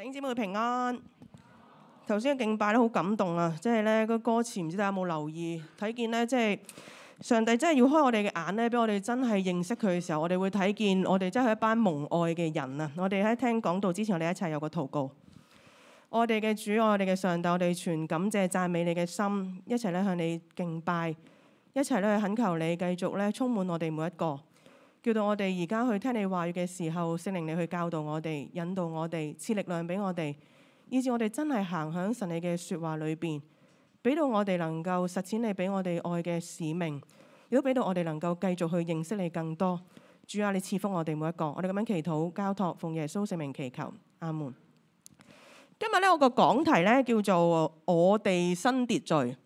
弟兄姊妹平安。頭先嘅敬拜咧好感動啊！即係咧個歌詞唔知大家有冇留意？睇見咧即係上帝真係要開我哋嘅眼咧，俾我哋真係認識佢嘅時候，我哋會睇見我哋真係一班蒙愛嘅人啊！我哋喺聽講道之前，我哋一齊有個禱告。我哋嘅主，我哋嘅上帝，我哋全感謝讚美你嘅心，一齊咧向你敬拜，一齊咧去懇求你繼續咧充滿我哋每一個，叫到我哋而家去聽你話語嘅時候，聖靈你去教導我哋，引導我哋，賜力量俾我哋，以致我哋真係行響神你嘅說話裏邊，俾到我哋能夠實踐你俾我哋愛嘅使命，亦都俾到我哋能夠繼續去認識你更多。主啊，你賜福我哋每一個，我哋咁樣祈禱交託，奉耶穌聖名祈求，阿門。今日咧我個講題咧叫做我哋新秩序。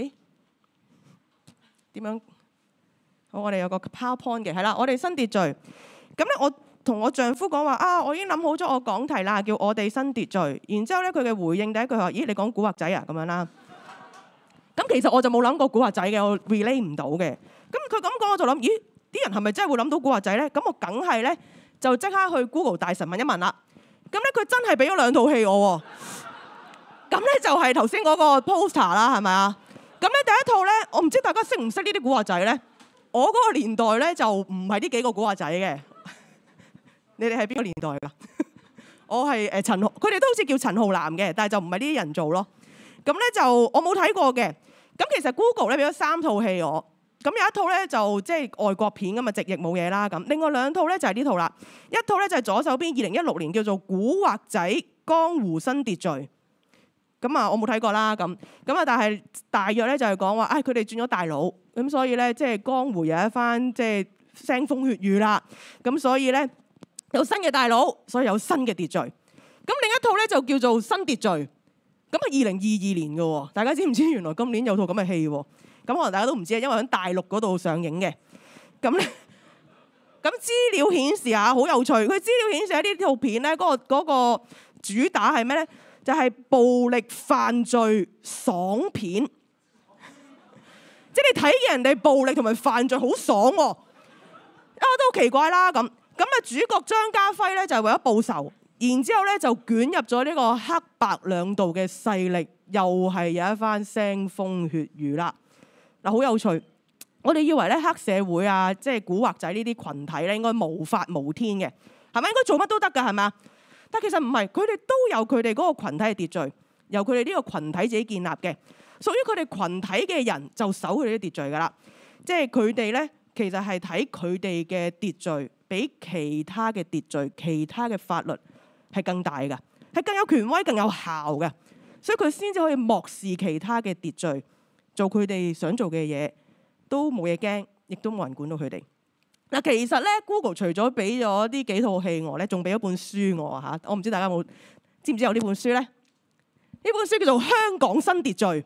點樣？好，我哋有個 PowerPoint 嘅，係啦，我哋新秩序。咁咧我同我丈夫講話啊，我已經諗好咗我講題啦，叫我哋新秩序。然之後咧佢嘅回應第一句話，咦，你講古惑仔啊咁樣啦。咁其實我就冇諗過古惑仔嘅，我 relate 唔到嘅。咁佢咁講我就諗，咦，啲人係咪真係會諗到古惑仔咧？咁我梗係咧就即刻去 Google 大神問一問啦。咁咧佢真係俾咗兩套戲我喎，咁咧就係頭先嗰個 poster 啦，係咪啊？咁咧第一套咧，我唔知大家識唔識呢啲古惑仔咧？我嗰個年代咧就唔係呢幾個古惑仔嘅，你哋係邊個年代㗎？我係陳浩，佢哋都好似叫陳浩南嘅，但係就唔係呢啲人做咯。咁咧就我冇睇過嘅。咁其實 Google 咧俾咗3套戲我。咁有一套咧就即係外國片咁啊，直譯冇嘢啦咁。另外2套咧就係呢套啦，一套咧就係左手邊2016年叫做《古惑仔江湖新秩序》。咁啊，我冇睇過啦咁。咁啊，但係大約咧就係講話，佢哋轉咗大佬，咁所以咧即係江湖有一番即係腥風血雨啦。咁所以咧有新嘅大佬，所以有新嘅秩序。咁另一套咧就叫做新秩序。咁啊2022年嘅喎，大家知唔知原來今年有套咁嘅戲喎？咁可能大家都唔知啊，因為喺大陸嗰度上映嘅。咁咧，咁資料顯示下好有趣。佢資料顯示喺呢套片咧，嗰個主打係咩咧？就係暴力犯罪爽片。即係你睇見人哋暴力同埋犯罪好爽喎，都好奇怪啦咁。咁啊，主角張家輝咧就係為咗報仇，然之後咧就捲入咗呢個黑白兩道嘅勢力，又係有一番腥風血雨啦。嗱，好有趣。我哋以為咧黑社會啊，即係古惑仔呢啲群體咧，應該無法無天嘅，係咪應該做乜都得㗎？係咪？但其實唔係，佢哋都有佢哋嗰個羣體嘅秩序，由佢哋呢個群體自己建立嘅，屬於佢哋群體嘅人就守佢哋啲秩序㗎啦。即係佢哋咧，其實係睇佢哋嘅秩序比其他嘅秩序、其他嘅法律係更大㗎，係更有權威、更有效嘅，所以佢先至可以漠視其他嘅秩序。做佢哋想做嘅嘢，都冇嘢驚，亦都冇人管到佢哋。嗱，其實咧 ，Google 除咗俾咗呢幾套戲我咧，仲俾咗本書我嚇。我唔知大家知唔知有呢本書咧？呢本書叫做《香港新秩序》。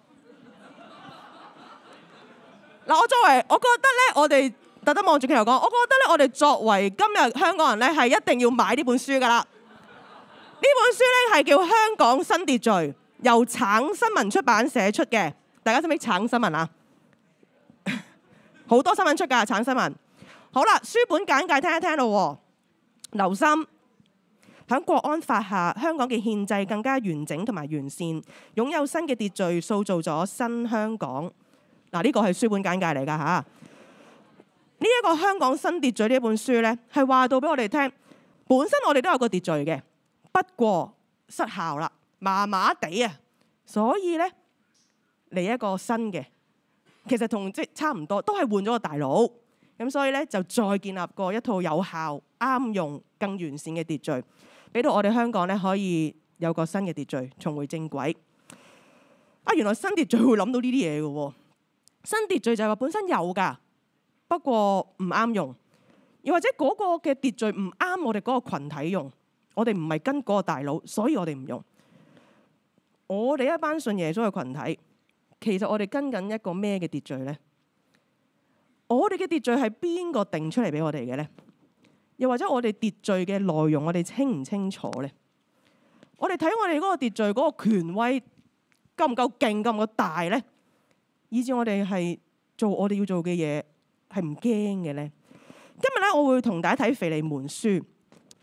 嗱，我覺得咧，我哋特登望住鏡頭講，我覺得咧，我哋作為今日香港人咧，係一定要買呢本書噶啦。呢本書咧係叫《香港新秩序》，由橙新聞出版社出嘅。大家識唔識橙新聞啊？好多新聞出㗎，橙新聞。好啦，書本簡介聽一聽咯。留心，喺國安法下，香港嘅憲制更加完整同埋完善，擁有新嘅秩序，塑造咗新香港。嗱，呢個係書本簡介嚟㗎嚇。呢一個香港新秩序呢一本書咧，係話到俾我哋聽，本身我哋都有個秩序嘅，不過失效啦，麻麻地啊，所以咧。嚟一個新嘅，其實同即差唔多，都係換咗個大佬，咁所以咧就再建立過一套有效、啱用、更完善嘅秩序，俾到我哋香港咧可以有個新嘅秩序，重回正軌。原來新秩序會諗到呢啲嘢嘅喎，新秩序就係話本身有㗎，不過唔啱用，又或者嗰個嘅秩序唔啱我哋嗰個羣體用，我哋唔係跟嗰個大佬，所以我哋唔用。我哋一班信耶穌嘅群體。其實我哋跟緊一個咩嘅秩序呢？我哋嘅秩序係邊個定出嚟俾我哋嘅呢？又或者我哋秩序嘅內容，我哋清唔清楚呢？我哋睇我哋嗰個秩序嗰個權威夠唔夠勁，夠唔夠大呢？以至我哋係做我哋要做嘅嘢係唔驚嘅呢？今日咧，我會同大家睇腓利門書。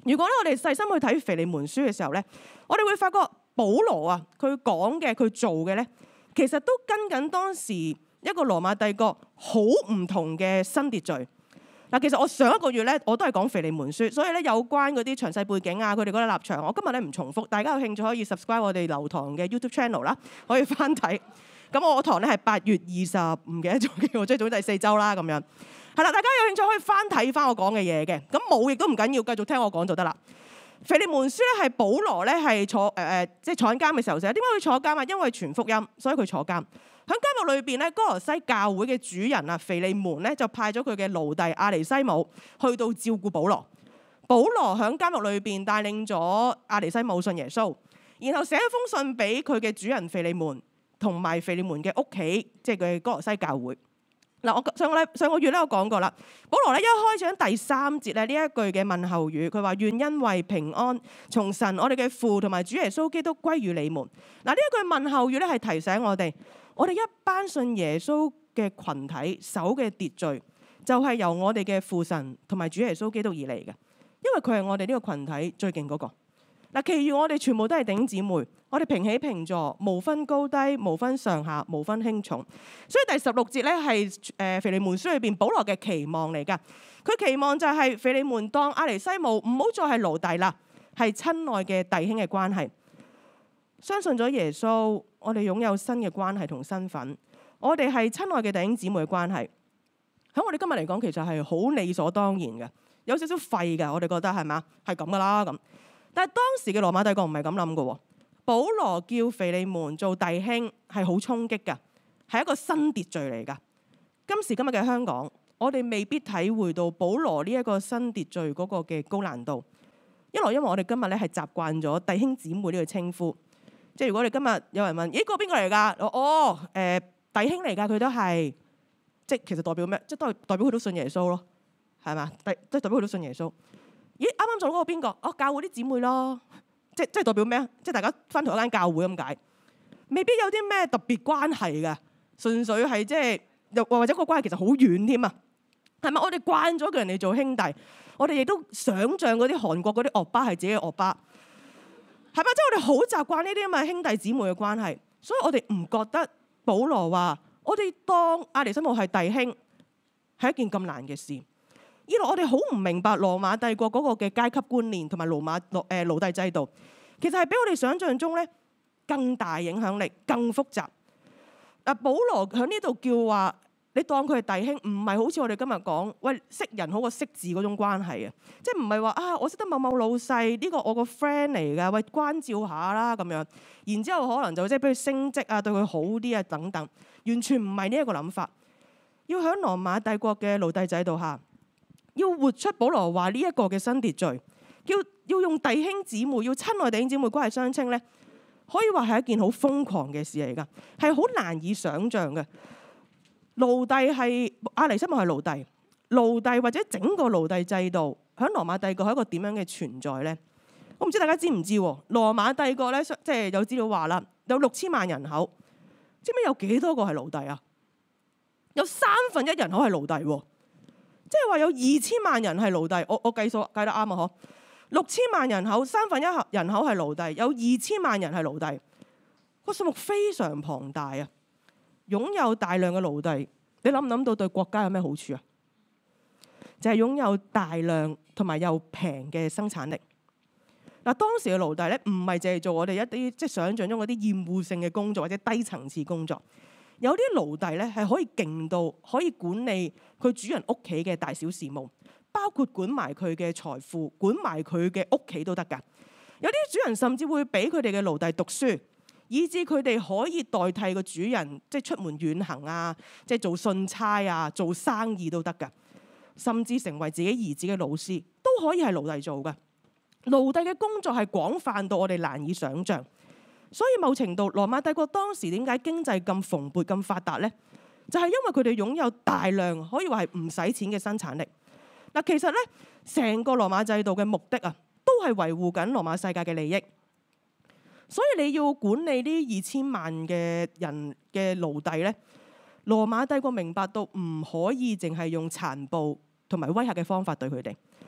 如果咧我哋細心去睇腓利門書嘅時候咧，我哋會發覺保羅啊，佢講嘅佢做嘅咧，其實都跟緊當時一個羅馬帝國好唔同嘅新秩序。嗱，其實我上一個月咧我都係講腓利門書，所以咧有關嗰啲詳細背景啊，佢哋嗰啲立場，我今日咧唔重複。大家有興趣可以 subscribe 我哋流堂嘅 YouTube channel 啦，可以翻睇。咁我堂咧係8月20，唔記得咗嘅，我即係總之第4週啦咁樣。係啦，大家有興趣可以翻睇翻我講嘅嘢嘅。咁冇亦都唔緊要，繼續聽我講就得啦。腓利門書咧係保羅咧係坐即係坐緊監嘅時候寫。點解佢坐監啊？因為傳福音，所以佢坐監。喺監獄裏邊咧，哥羅西教會嘅主人啊，腓利門咧就派咗佢嘅奴隸阿尼西姆去到照顧保羅。保羅喺監獄裏邊帶領咗阿尼西姆信耶穌，然後寫一封信俾佢嘅主人腓利門同埋腓利門嘅屋企，即係佢哥羅西教會。嗱，我上個月咧我講過啦，保羅咧一開始喺第3節咧呢一句嘅問候語，佢話願恩惠平安從神我哋嘅父同埋主耶穌基督歸於你們。嗱，呢一句問候語咧係提醒我哋一班信耶穌嘅群體守嘅秩序，就係由我哋嘅父神同埋主耶穌基督而嚟嘅，因為佢係我哋呢個群體最勁嗰個。嗱，其餘我哋全部都係弟兄姊妹，我哋平起平坐，無分高低，無分上下，無分輕重。所以第16節咧係腓利門書裏邊保羅嘅期望嚟㗎。佢期望就係腓利門當阿尼西姆唔好再係奴隸啦，係親愛嘅弟兄嘅關係。相信咗耶穌，我哋擁有新嘅關係同身份。我哋係親愛嘅弟兄姊妹嘅關係。喺我哋今日嚟講，其實係好理所當然嘅，有少少廢嘅。我哋覺得係嘛，係咁噶啦咁。但係當時嘅羅馬帝國唔係咁諗嘅。保羅叫腓利門做弟兄係好衝擊㗎，係一個新秩序嚟㗎。今時今日嘅香港，我哋未必體會到保羅呢一個新秩序嗰個嘅高難度。一來因為我哋今日咧係習慣咗弟兄姊妹呢個稱呼，即係如果你今日有人問，咦，個邊個嚟㗎？弟兄嚟㗎，佢都係，即係其實代表咩？即係都係代表佢都信耶穌咯，係嘛？即係代表佢都信耶穌。咦，啱啱做嗰個邊個？教會啲姊妹咯，即係代表咩啊？即係大家返同一間教會咁解，未必有啲咩特別關係嘅，純粹係即係又或者個關係其實好遠添啊？係咪？我哋慣咗叫人哋做兄弟，我哋亦都想像嗰啲韓國嗰啲惡巴係自己嘅惡巴，係咪？即係我哋好習慣呢啲咁嘅兄弟姊妹嘅關係，所以我哋唔覺得保羅話我哋當阿尼西姆係弟兄係一件咁難嘅事。二來我哋好唔明白羅馬帝國嗰個嘅階級觀念同埋奴隸制度，其實係比我哋想象中咧更大影響力、更複雜。保羅喺呢度叫話，你當佢係弟兄，唔係好似我哋今日講，喂，識人好過識字嗰種關係啊！即係唔係話啊，我識得某某老細，呢個我個 friend 嚟㗎，喂，關照下啦咁樣。然之後可能就即係俾佢升職啊，對佢好啲啊等等，完全唔係呢一個諗法。要喺羅馬帝國嘅奴隸制度下，要活出保羅話呢一個嘅新秩序，要用弟兄姊妹，要親愛弟兄姊妹關係相稱咧，可以話係一件好瘋狂嘅事嚟㗎，係好難以想像嘅。奴隸係阿尼西姆係奴隸或者整個奴隸制度喺羅馬帝國係一個點樣嘅存在咧？我唔知大家知唔知喎？羅馬帝國咧，即係有資料話啦，有6000萬人口，知唔知有幾多個係奴隸啊？有1/3人口係奴隸喎。即係話有2000萬人係奴隸，我計數計得啱啊！嗬，6000萬人口1/3人口係奴隸，有2000萬人係奴隸，個數目非常龐大啊！擁有大量嘅奴隸，你諗唔諗到對國家有咩好處啊？就係擁有大量同埋又平嘅生產力。嗱，當時嘅奴隸咧，唔係淨係做我哋一啲即係想像中嗰啲厭惡性嘅工作或者低層次工作。有啲奴隸咧係可以勁到可以管理佢主人屋企嘅大小事務，包括管埋佢嘅財富，管埋佢嘅屋企都得㗎。有啲主人甚至會俾佢哋嘅奴隸讀書，以至佢哋可以代替個主人，即係出門遠行啊，即係做信差啊，做生意都得㗎。甚至成為自己兒子嘅老師都可以係奴隸做㗎。奴隸嘅工作係廣泛到我哋難以想像。所以某程度，羅馬帝國當時點解經濟咁蓬勃、咁發達呢？就係因為佢哋擁有大量可以話係唔使錢嘅生產力。嗱，其實咧，成個羅馬制度嘅目的啊，都係維護緊羅馬世界嘅利益。所以你要管理呢2000萬嘅人嘅奴隸咧，羅馬帝國明白到唔可以淨係用殘暴同埋威嚇嘅方法對佢哋。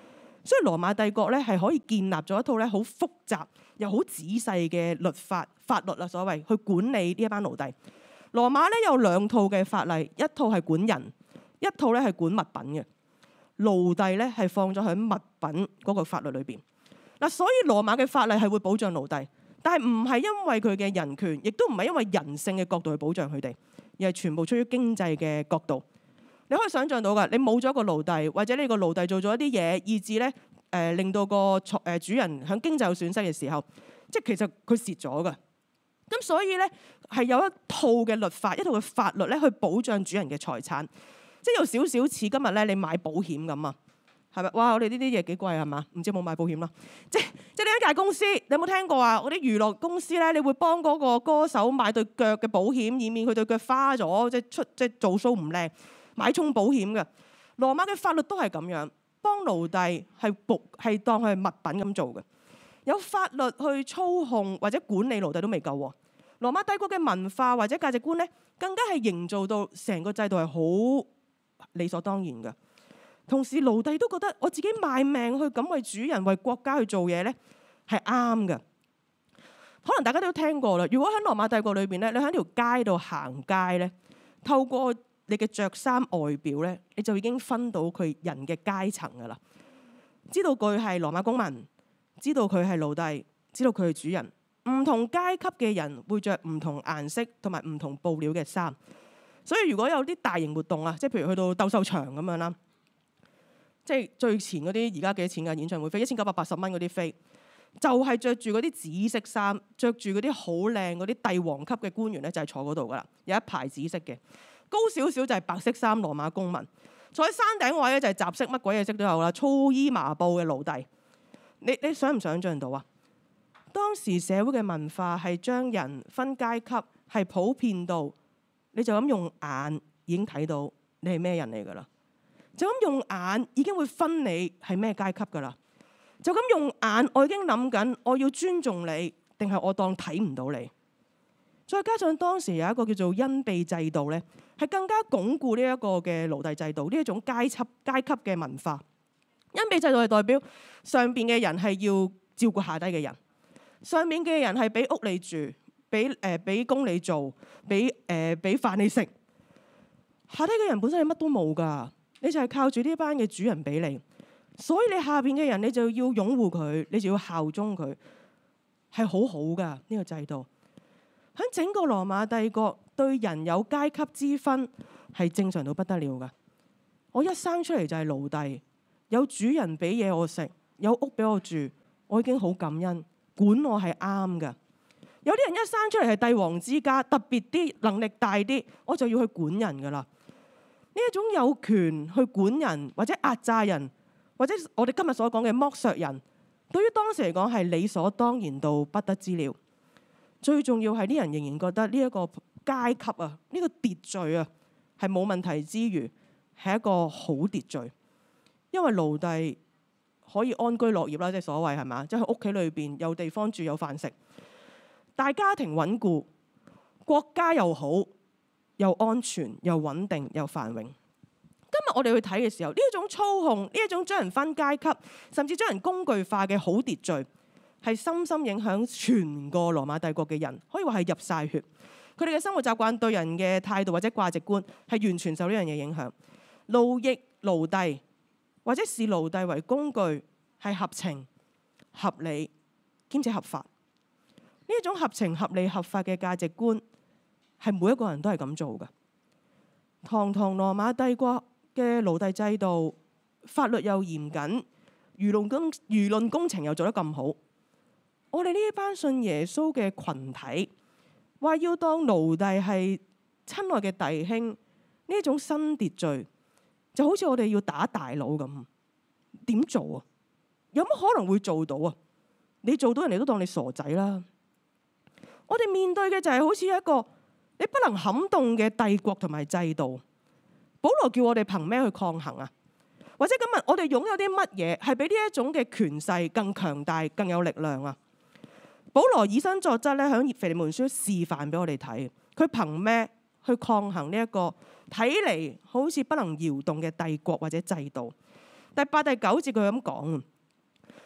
所以羅馬帝國咧係可以建立咗一套咧好複雜又好仔細嘅法律啦，所謂去管理呢一班奴隸。羅馬咧有兩套嘅法例，一套係管人，一套咧係管物品嘅。奴隸咧係放咗喺物品嗰個法律裏邊。嗱，所以羅馬嘅法例係會保障奴隸，但係唔係因為佢嘅人權，亦都唔係因為人性嘅角度去保障佢哋，而係全部出於經濟嘅角度。你可以想象到㗎，你冇咗個奴隸，或者你個奴隸做咗一啲嘢，以致咧令到個主人喺經濟有損失嘅時候，即係其實佢蝕咗㗎。咁所以咧係有一套嘅律法，一套嘅法律咧去保障主人嘅財產，即係有少少似今日咧你買保險咁啊，係咪？哇！我哋呢啲嘢幾貴係嘛？唔知有冇買保險啦？即係呢一間公司，你有冇聽過啊？嗰啲娛樂公司咧，你會幫嗰個歌手買對腳嘅保險，以免佢對腳花咗，即係做 show 唔靚，買重保險嘅。羅馬嘅法律都係咁樣，幫奴隸係當佢係物品咁做嘅。有法律去操控或者管理奴隸都未夠喎。羅馬帝國嘅文化或者價值觀咧，更加係營造到成個制度係好理所當然嘅。同時奴隸都覺得我自己賣命去咁為主人為國家去做嘢咧係啱嘅。可能大家都聽過啦。如果喺羅馬帝國裏邊咧，你喺條街度行街咧，透過你嘅着衫外表咧，你就已經分到佢人嘅階層噶啦。知道佢係羅馬公民，知道佢係奴隸，知道佢係主人。唔同階級嘅人會着唔同顏色同埋唔同布料嘅衫。所以如果有啲大型活動啊，即係譬如去到鬥獸場咁樣啦，即係最前嗰啲而家幾多錢嘅演唱會飛1980蚊嗰啲飛，就係着住嗰啲紫色衫，着住嗰啲好靚嗰啲帝王級嘅官員咧，就係坐嗰度噶啦，有一排紫色嘅。高少少就係白色衫羅馬公民，坐喺山頂位咧就係雜色，乜鬼嘢色都有啦，粗衣麻布嘅奴隸。你想唔想像到啊？當時社會嘅文化係將人分階級，係普遍到你就咁用眼已經睇到你係咩人嚟㗎啦，就咁用眼已經會分你係咩階級㗎啦，就咁用眼我已經諗緊我要尊重你定係我當睇唔到你。再加上當時有一個叫做恩庇制度咧，係更加鞏固呢一個嘅奴隸制度，呢一種階級嘅文化。恩庇制度係代表上邊嘅人係要照顧下低嘅人，上面嘅人係俾屋你住，俾工你做，俾飯你食。下低嘅人本身係乜都冇㗎，你就係靠住呢班嘅主人俾你，所以你下邊嘅人你就要擁護佢，你就要效忠佢，係好好㗎呢個制度。喺整個羅馬帝國對人有階級之分係正常到不得了㗎。我一生出嚟就係奴隸，有主人俾嘢我食，有屋俾我住，我已經好感恩，管我係啱㗎。有啲人一生出嚟係帝王之家，特別啲能力大啲，我就要去管人㗎啦。呢一種有權去管人或者壓榨人，或者我哋今日所講嘅剝削人，對於當時嚟講係理所當然到不得之了。最重要係啲人仍然覺得呢一個階級啊，呢個秩序啊係冇問題之餘，係一個好秩序。因為奴隸可以安居樂業啦，即係所謂係嘛，即係喺屋企裏邊有地方住有飯食，大家庭穩固，國家又好，又安全又穩定又繁榮。今日我哋去睇嘅時候，呢一種操控，呢一種將人分階級，甚至將人工具化嘅好秩序，係深深影響全個羅馬帝國嘅人，可以話係入晒血。佢哋嘅生活習慣、對人嘅態度或者價值觀，係完全受呢樣嘢影響。奴役奴隸或者視奴隸為工具，係合情合理兼且合法。呢一種合情合理合法嘅價值觀，係每一個人都係咁做嘅。堂堂羅馬帝國嘅奴隸制度，法律又嚴謹，輿論工程又做得咁好。我哋呢一班信耶穌嘅群體，話要當奴隸係親愛嘅弟兄，呢一種新秩序就好似我哋要打大佬咁，點做啊？有乜可能會做到啊？你做到人哋都當你傻仔啦！我哋面對嘅就係好似一個你不能撼動嘅帝國同埋制度。保羅叫我哋憑咩去抗衡啊？或者今日我哋擁有啲乜嘢係比呢一種嘅權勢更強大、更有力量啊？保羅以身作則咧，喺腓利門書示範俾我哋睇，佢憑咩去抗衡呢一個睇嚟好似不能搖動嘅帝國或者制度？第8、第9節佢咁講：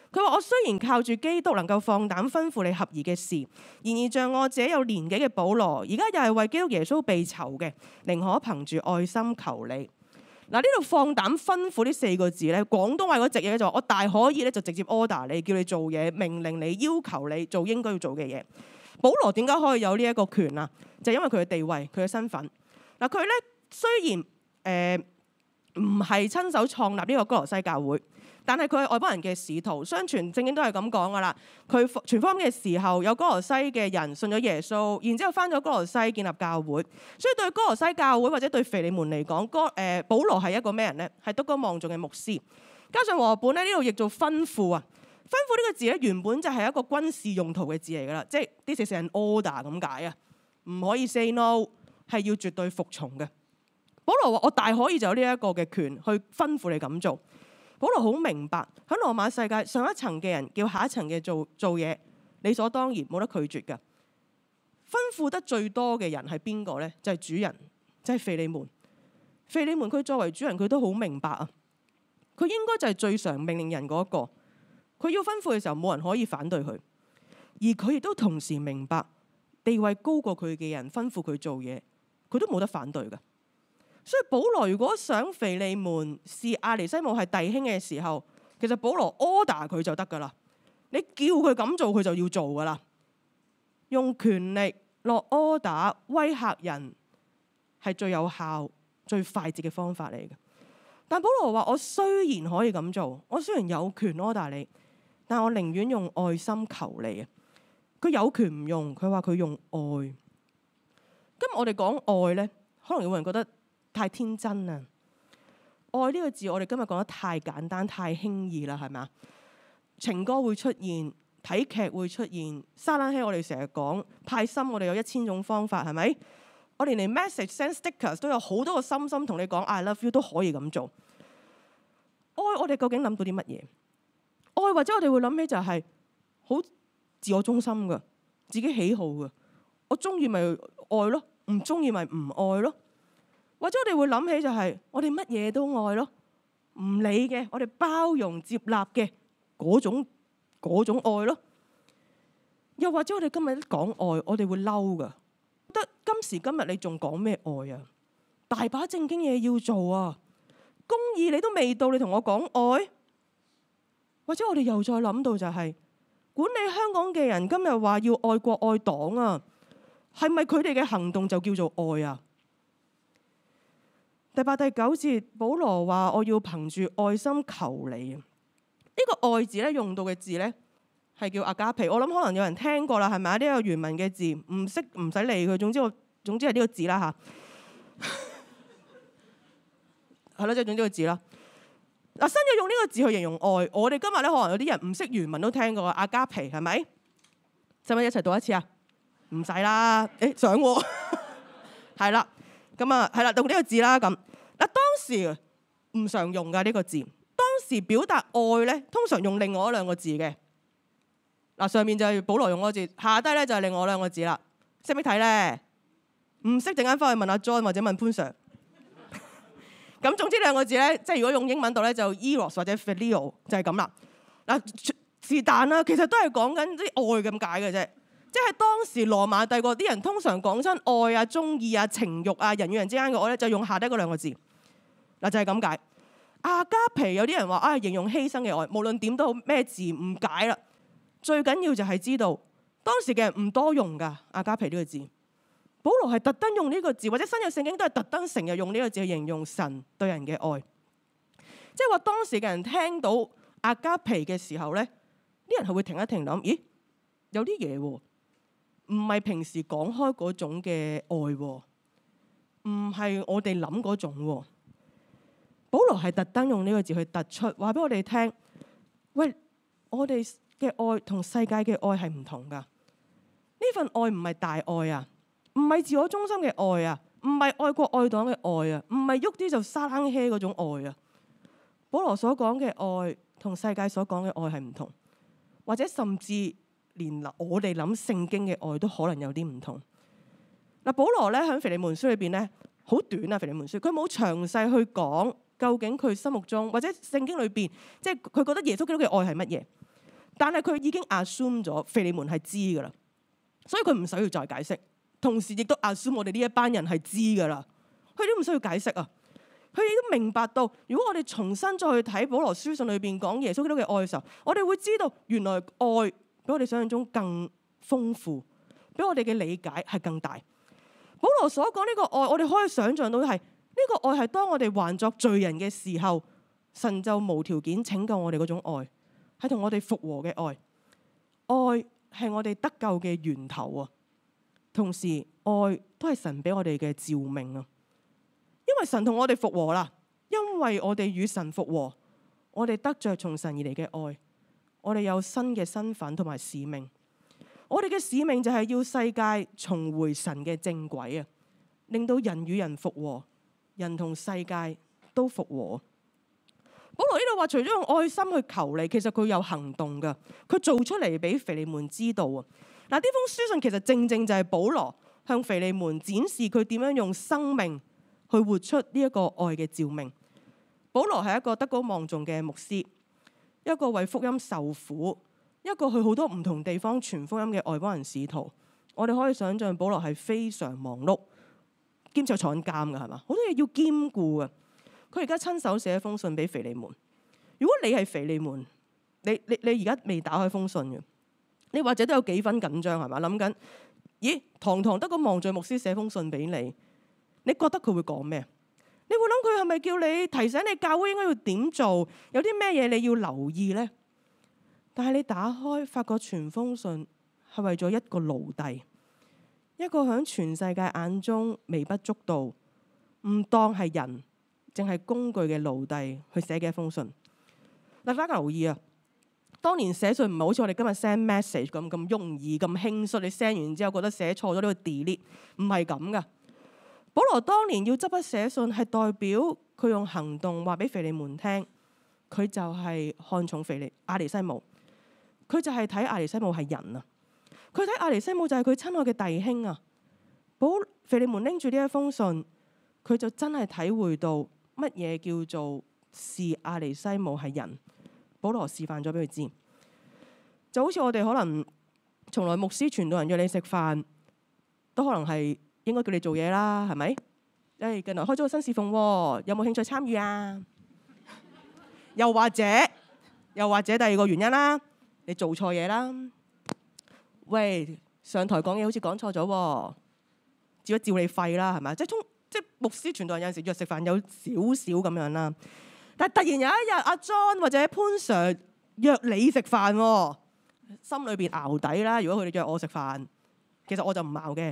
佢話：我雖然靠住基督能夠放膽吩咐你合宜嘅事，然而像我這有年紀嘅保羅，而家又係為基督耶穌被囚嘅，寧可憑住愛心求你。嗱，呢度放膽吩咐呢4個字咧，廣東話嗰隻嘢就話我大可以咧就直接 order 你，叫你做嘢，命令你，要求你做應該要做嘅嘢。保羅點解可以有呢一個權啊？就係因為佢嘅地位，佢嘅身份。嗱，佢咧雖然唔係親手創立呢個哥羅西教會，但係佢係外邦人嘅使徒。相傳聖經都係咁講噶啦。佢傳福音嘅時候，有哥羅西嘅人信咗耶穌，然之後翻咗哥羅西建立教會。所以對哥羅西教會或者對腓利門嚟講，保羅係一個咩人咧？係德高望重嘅牧師。加上和合本咧呢度譯做吩咐啊。吩咐呢個字咧原本就係一個軍事用途嘅字嚟噶啦，即係 this is an order 咁解啊，唔可以 say no， 係要絕對服從嘅。保羅話：我大可以就有呢一個嘅權去吩咐你咁做。保羅好明白喺羅馬世界上一層嘅人叫下一層嘅做嘢，理所當然冇得拒絕嘅。吩咐得最多嘅人係邊個咧？就係主人，就係腓利門。腓利門佢作為主人，佢都好明白啊。佢應該就係最常命令人嗰一個。佢要吩咐嘅時候，冇人可以反對佢，而佢亦都同時明白地位高過佢嘅人吩咐佢做嘢，佢都冇得反對㗎。所以保羅如果想腓利門視亞尼西姆係弟兄嘅時候，其實保羅 order 佢就得㗎啦。你叫佢咁做，佢就要做㗎啦。用權力落 order 威嚇人係最有效、最快捷嘅方法嚟嘅。但保羅話：我雖然可以咁做，我雖然有權 order 你，但我寧願用愛心求你啊！佢有權唔用，佢話佢用愛。今日我哋講愛呢，可能有人覺得太天真啊！愛呢個字，我哋今日講得太簡單、太輕易啦，係咪啊？情歌會出現，睇劇會出現，沙冷氣我哋成日講派心，我哋有1000種方法，係咪？我哋連 message send stickers 都有好多個心心同你講 I love you 都可以咁做。愛我哋究竟諗到啲乜嘢？愛或者我哋會諗起就係好自我中心嘅，自己喜好嘅。我中意咪愛咯，唔中意咪唔愛咯。或者我哋會諗起就係我哋乜嘢都愛咯，唔理嘅，我哋包容接納嘅嗰種愛咯。又或者我哋今日一講愛，我哋會嬲噶，覺得今時今日你仲講咩愛啊？大把正經嘢要做啊！公義你都未到，你同我講愛？或者我哋又再諗到就係管理香港嘅人今日話要愛國愛黨啊，係咪佢哋嘅行動就叫做愛啊？第8、第9節，保羅話我要憑住愛心求你。呢個愛字咧用到嘅字咧係叫阿加皮，我諗可能有人聽過啦，係咪啊？呢個原文嘅字唔識唔使理佢，總之係呢個字啦吓。係咯，即係總之個字啦。嗱，新約用呢個字去形容愛，我哋今日咧可能有啲人唔識原文都聽過阿加皮，係咪？使唔使一齊讀一次啊？唔使啦，想喎。係啦，咁啊係啦，讀呢個字啦咁。嗱，當時唔常用噶呢個字，當時表達愛咧，通常用另外2個字嘅。嗱，上面就係保羅用嗰個字，下低咧就係另外2個字啦。識唔識睇咧？唔識陣間翻去問阿 John 或者問潘 Sir。咁總之2個字咧，即係如果用英文讀咧就 eros 或者 phileo 就係咁啦。嗱，是但啦，其實都係講緊啲愛咁解嘅啫。即係當時羅馬帝國啲人通常講親愛啊、中意啊、情慾啊、人與人之間嘅愛咧，就用下低嗰2個字。嗱，就係咁解。阿加皮有啲人話形容犧牲嘅愛，無論點都好，咩字唔解啦。最緊要就係知道當時嘅人唔多用噶阿加皮呢個字。保羅係特登用呢個字，或者新約聖經都係特登成日用呢個字去形容神對人嘅愛。即係話當時嘅人聽到阿加皮嘅時候咧，啲人係會停一停諗，咦，有啲嘢喎，唔係平時講開嗰種嘅愛喎，唔係我哋諗嗰種喎。保羅係特登用呢個字去突出，話俾我哋聽，喂，我哋嘅愛同世界嘅愛係唔同噶。呢份愛唔係大愛啊，唔係自我中心嘅愛啊，唔係愛國愛黨嘅愛啊，唔係喐啲就沙冷氣嗰種愛啊。保羅所講嘅愛同世界所講嘅愛係唔同，或者甚至連我哋諗聖經嘅愛都可能有啲唔同。嗱，保羅咧喺腓利門書裏邊咧好短啊，腓利門書佢冇詳細去講究竟佢心目中或者聖經裏邊，即係佢覺得耶穌基督嘅愛係乜嘢。 但係佢已經 assume 咗腓利門係知㗎啦，所以佢唔使要再解釋。同時亦都 assume 我哋呢一班人係知㗎啦，佢都唔需要解釋啊。佢亦都明白到，如果我哋重新再去睇保羅書信裏邊講耶穌基督嘅愛嘅時候，我哋會知道原來愛比我哋想象中更豐富，比我哋嘅理解係更大。保羅所講呢個愛，我哋可以想象到係呢個愛係當我哋還作罪人嘅時候，神就無條件拯救我哋嗰種愛，係同我哋復和嘅愛。愛係我哋得救嘅源頭啊！同時愛都係神俾我哋嘅召命啊！因為神同我哋復和啦，因為我哋與神復和，我哋得着從神而嚟嘅愛，我哋有新嘅身份同埋使命。我哋嘅使命就係要世界重回神嘅正軌啊，令到人與人復和，人同世界都復和。保羅呢度話，除咗用愛心去求你，其實佢有行動噶，佢做出嚟俾腓利門知道啊。嗱，呢封書信其實正正就係保羅向腓利門展示佢點樣用生命去活出呢一個愛嘅召命。保羅係一個德高望重嘅牧師，一個為福音受苦，一個去好多唔同地方傳福音嘅外邦人使徒。我哋可以想象保羅係非常忙碌，兼且坐緊監噶，係嘛？好多嘢要兼顧啊！佢而家親手寫一封信俾腓利門。如果你係腓利門，你而家未打開封信嘅，你或者都有幾分緊張係嘛？諗緊，咦？堂堂德高望重牧師寫封信俾你，你覺得佢會講咩？你會諗佢係咪叫你提醒你教會應該要點做？有啲咩嘢你要留意呢？但係你打開發覺全封信係為咗一個奴隸，一個響全世界眼中微不足道、唔當係人，淨係工具嘅奴隸去寫嘅一封信。大家留意啊！當年寫信唔係好似我哋今日 send message 咁容易咁輕率，你 send 完之後覺得寫錯咗呢個 delete， 唔係咁噶。保羅當年要執筆寫信，係代表佢用行動話俾腓利門聽，佢就係看重阿尼西姆，佢就係睇阿尼西姆係人啊，佢睇阿尼西姆就係佢親愛嘅弟兄啊。腓利門拎住呢一封信，佢就真係體會到乜嘢叫做視阿尼西姆係人。保羅示範咗俾佢知，就好似我哋可能從來牧師傳道人約你食飯，都可能係應該叫你做嘢啦，係咪？近來開咗個新侍奉，有冇興趣參與啊？又或者第二個原因啦，你做錯嘢啦。喂，上台講嘢好似講錯咗，照你肺啦，係咪？即係牧師傳道人有陣時約食飯有少少咁樣啦。但係突然有一日，阿 John 或者潘 Sir 約你食飯，心裏邊淆底啦。如果佢哋約我食飯，其實我就唔淆嘅，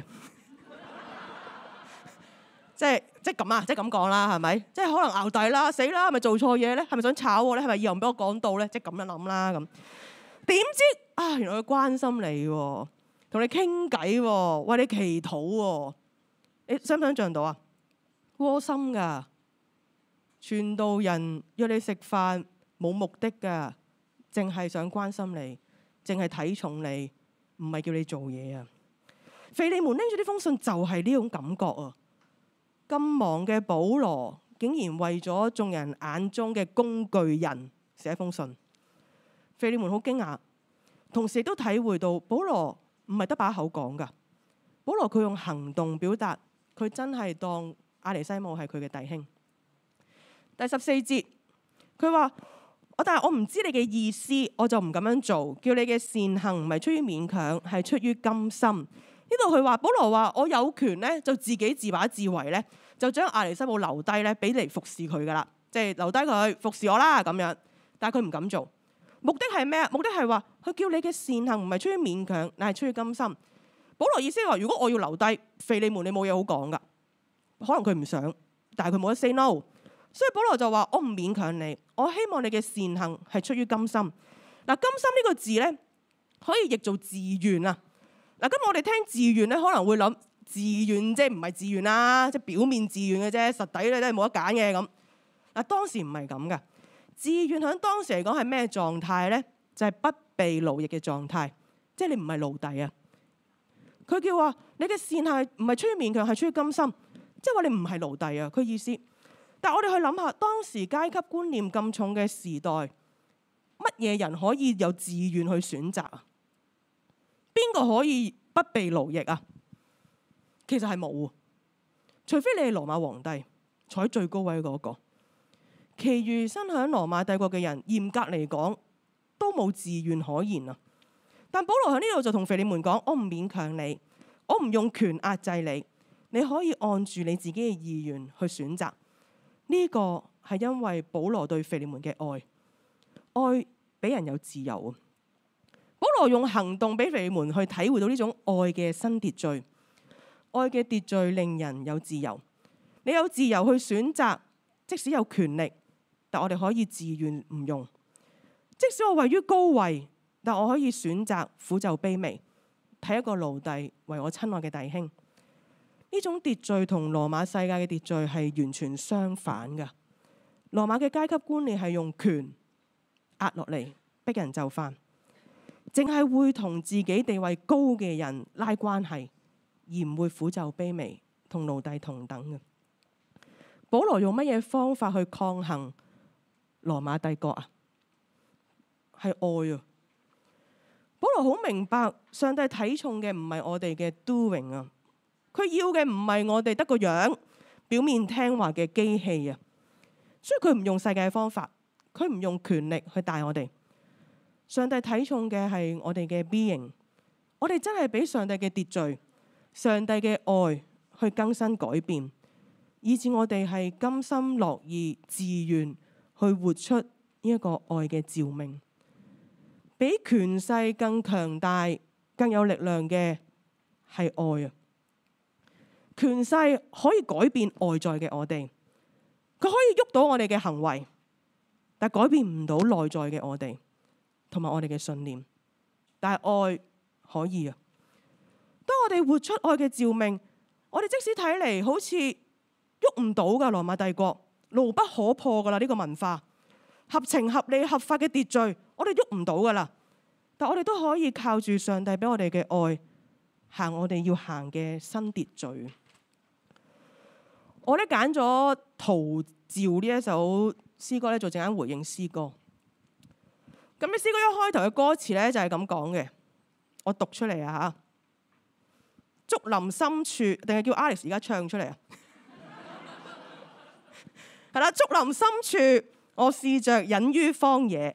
即係咁啊，即係咁講啦，係咪？即係可能淆底啦，死啦，係咪做錯嘢咧？係咪想炒我咧？係咪以後唔俾我講到咧？即係咁樣諗啦。咁點知啊？原來佢關心你，同你傾偈，為你祈禱。你想唔想像到啊？窩心㗎。傳道人約你食飯冇目的㗎，淨係想關心你，淨係睇重你，唔係叫你做嘢啊！腓利門拎住呢封信就係呢種感覺啊！咁忙嘅保羅竟然為咗眾人眼中嘅工具人寫封信，腓利門好驚訝，同時亦都體會到保羅唔係得把口講㗎，保羅佢用行動表達，佢真係當阿尼西姆係佢嘅弟兄。第14節，佢話：但係我唔知你嘅意思，我就唔咁樣做。叫你嘅善行唔係出於勉強，係出於甘心。呢度佢話保羅話：我有權咧，就自己自把自為咧，就將阿尼西姆留低咧，俾嚟服侍佢噶啦，即係留低佢服侍我啦咁樣。但係佢唔敢做，目的係咩？目的係話佢叫你嘅善行唔係出於勉強，乃係出於甘心。保羅意思係話：如果我要留低腓利門，你冇嘢好講噶，可能佢唔想，但係佢冇得 say no。所以保羅就話：我唔勉強你，我希望你嘅善行係出於甘心。嗱，甘心呢個字咧，可以譯做自願啊。嗱，咁我哋聽自願咧，可能會諗自願即係唔係自願啦，即係表面自願嘅啫，實底咧都係冇得揀嘅咁。嗱，當時唔係咁噶，自願喺當時嚟講係咩狀態咧？就係不被奴役嘅狀態，即係你唔係奴隸啊。佢叫話你嘅善行唔係出於勉強，係出於甘心，即係話你唔係奴隸啊。佢意思。但係我哋去諗下，當時階級觀念咁重嘅時代， 乜嘢人可以有自願去選擇啊？邊個可以不被奴役啊？其實係冇，除非你係羅馬皇帝坐喺最高位嗰個。其餘身喺羅馬帝國嘅人，嚴格嚟講都冇自願可言啊。但保羅喺呢度就同腓利門講：我唔勉強你，我唔用權壓制你，你可以按住你自己嘅意願去選擇。呢個係因為保羅對腓利門嘅愛，愛俾人有自由啊。保羅用行動俾腓利門去體會到呢種愛嘅新秩序，愛嘅秩序令人有自由。你有自由去選擇，即使有權力，但我哋可以自願唔用。即使我位於高位，但我可以選擇俯就卑微，睇一個奴隸為我親愛嘅弟兄。呢種秩序同羅馬世界嘅秩序係完全相反㗎。羅馬嘅階級觀念係用權壓落嚟，逼人就範，淨係會同自己地位高嘅人拉關係，而唔會俯就卑微，同奴隸同等嘅。保羅用乜嘢方法去抗衡羅馬帝國啊？係愛啊！保羅好明白上帝睇重嘅唔係我哋嘅 doing 啊，佢要嘅唔係我哋得個樣表面聽話嘅機器啊，所以佢唔用世界嘅方法，佢唔用權力去帶我哋。上帝睇重嘅係我哋嘅 being， 我哋真係俾上帝嘅秩序、上帝嘅愛去更新改變，以致我哋係甘心樂意、自願去活出呢一個愛嘅召命。比權勢更強大、更有力量嘅係愛啊！權勢可以改變外在嘅我哋，佢可以喐到我哋嘅行為，但改變唔到內在嘅我哋同埋我哋嘅信念。但係愛可以啊！當我哋活出愛嘅召命，我哋即使睇嚟好似喐唔到噶羅馬帝國，牢不可破噶啦，呢個文化合情合理合法嘅秩序，我哋喐唔到噶啦。但我哋都可以靠住上帝俾我哋嘅愛，行我哋要行嘅新秩序。我咧揀咗《陶照》呢一首詩歌咧做陣間回應詩歌。咁呢詩歌一開頭嘅歌詞咧就係咁講嘅，我讀出嚟啊嚇！竹林深處，定係叫 Alex 而家唱出嚟啊？係啦，竹林深處，我試着隱於荒野。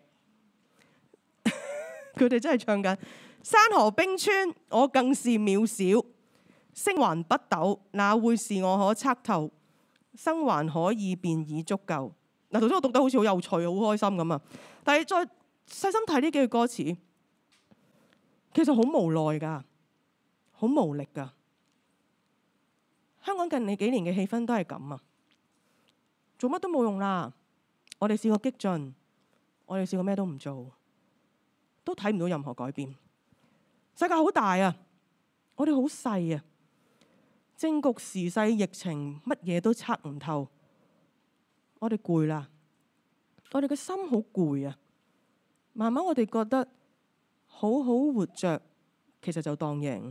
佢哋真係唱緊山河冰川，我更是渺小。星環北斗，哪會是我可測透？生還可以，便已足夠。嗱，頭先我讀得好似好有趣、好開心咁啊！但係再細心睇呢幾句歌詞，其實好無奈㗎，好無力㗎。香港近呢幾年嘅氣氛都係咁啊，做乜都冇用啦。我哋試過激進，我哋試過咩都唔做，都睇唔到任何改變。世界好大啊，我哋好細啊。政局時勢疫情乜嘢都測唔透，我哋攰啦，我哋嘅心好攰啊。慢慢我哋覺得好好活着，其實就當贏。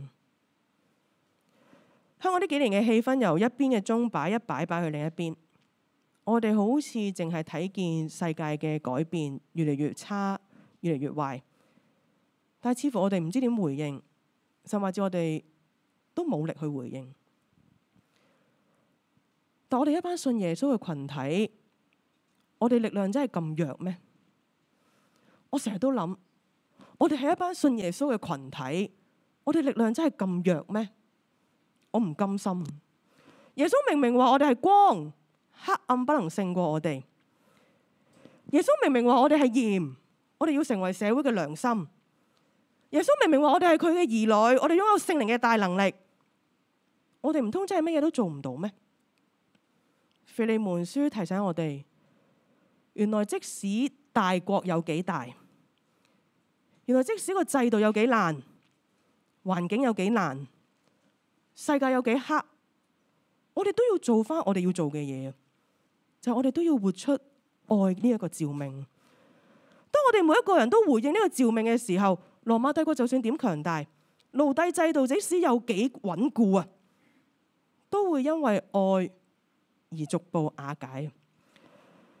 香港呢幾年嘅氣氛由一邊嘅鐘擺一擺去另一邊，我哋好似淨係睇見世界嘅改變越嚟越差，越嚟越壞，但係似乎我哋唔知點回應，甚至我哋都冇力去回應。但我哋一班信耶穌嘅群體，我哋力量真係咁弱咩？我成日都諗，我哋係一班信耶穌嘅群體，我哋力量真係咁弱咩？我唔甘心。耶穌明明話我哋係光，黑暗不能勝過我哋。耶穌明明話我哋係鹽，我哋要成為社會嘅良心。耶穌明明話我哋係佢嘅兒女，我哋擁有聖靈嘅大能力。我哋唔通真係乜嘢都做唔到咩？腓利門書提醒我哋，原來即使大國有幾大，原來即使個制度有幾爛，環境有幾難，世界有幾黑，我哋都要做翻我哋要做嘅嘢，就係我哋都要活出愛呢一個召命。當我哋每一個人都回應呢個召命嘅時候，羅馬帝國就算點強大，奴隸制度即使有幾穩固啊，都會因為愛而逐步瓦解。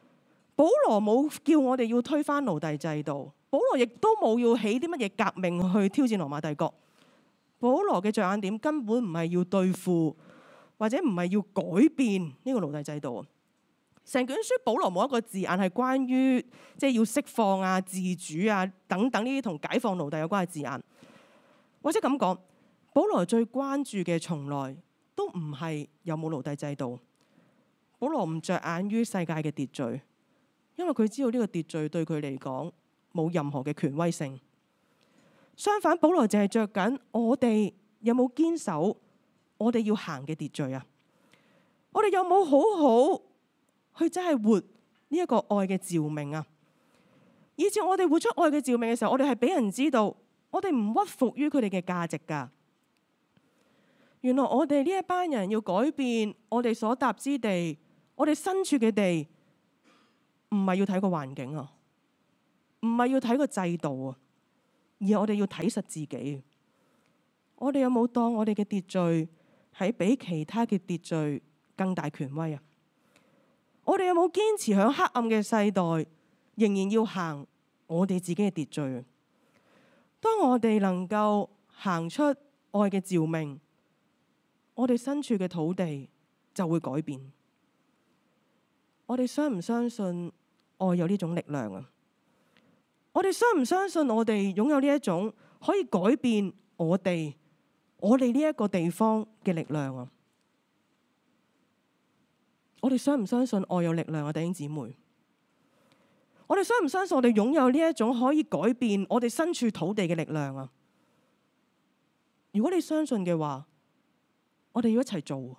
保羅冇叫我哋要推翻奴隸制度，保羅亦都冇要起啲乜嘢革命去挑戰羅馬帝國。保羅嘅着眼點根本唔係要對付，或者唔係要改變呢個奴隸制度。成卷書保羅冇一個字眼係關於即係要釋放啊、自主啊等等呢啲同解放奴隸有關嘅字眼。或者咁講，保羅最關注嘅從來都唔係有冇奴隸制度。保羅唔着眼於世界嘅秩序，因為佢知道呢個秩序對佢嚟講冇任何嘅權威性。相反，保羅淨係着緊我哋有冇堅守我哋要行嘅秩序啊？我哋有冇好好去真係活呢一個愛嘅召命啊？以至我哋活出愛嘅召命嘅時候，我哋係俾人知道，我哋唔屈服於佢哋嘅價值噶。原來我哋呢一班人要改變我哋所踏之地，我哋身處嘅地，唔係要睇個環境啊，唔係要睇個制度啊，而係我哋要睇實自己。我哋有冇當我哋嘅秩序係比其他嘅秩序更大權威啊？我哋有冇堅持喺黑暗嘅世代，仍然要行我哋自己嘅秩序？當我哋能夠行出愛嘅召命，我哋身處嘅土地就會改變。我哋相唔相信愛有呢種力量啊？我哋相唔相信我哋擁有呢一種可以改變我哋呢一個地方嘅力量啊？我哋相唔相信愛有力量啊？弟兄姊妹，我哋相唔相信我哋擁有呢一種可以改變我哋身處土地嘅力量啊？如果你相信嘅話，我哋要一齊做，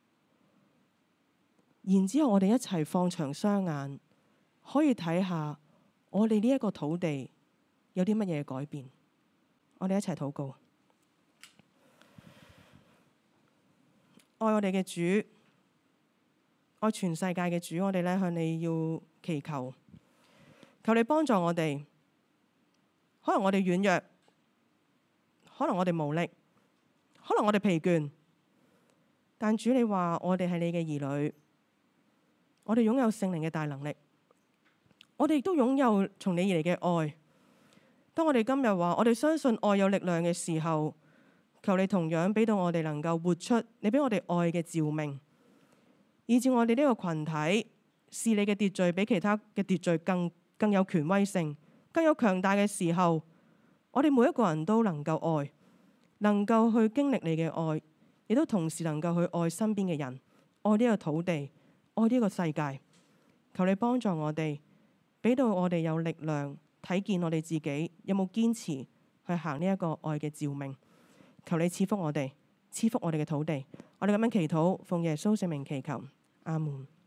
然之後我哋一齊放長雙眼，可以睇下我哋呢一個土地有啲乜嘢改變。我哋一齊禱告。愛我哋嘅主，愛全世界嘅主，我哋向你要祈求，求你幫助我哋。可能我哋軟弱，可能我哋無力，可能我哋疲倦，但主你話我哋係你嘅兒女，我哋擁有聖靈嘅大能力，我哋亦都擁有從你而嚟嘅愛。當我哋今日話我哋相信愛有力量嘅時候，求你同樣俾到我哋能夠活出你俾我哋愛嘅召命，以致我哋呢個群體視你嘅秩序比其他嘅秩序更有權威性，更有強大嘅時候，我哋每一個人都能夠愛，能夠去經歷你嘅愛，亦都同時能夠去愛身邊嘅人，愛呢個土地，愛呢個世界。求你幫助我哋，俾到我哋有力量睇見我哋自己有冇堅持去行呢一個愛嘅召命。求你賜福我哋，賜福我哋嘅土地。我哋咁樣祈禱，奉耶穌聖名祈求，阿門。